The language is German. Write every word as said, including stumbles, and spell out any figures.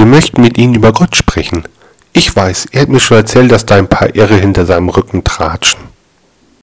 wir möchten mit Ihnen über Gott sprechen. Ich weiß, er hat mir schon erzählt, dass da ein paar Irre hinter seinem Rücken tratschen.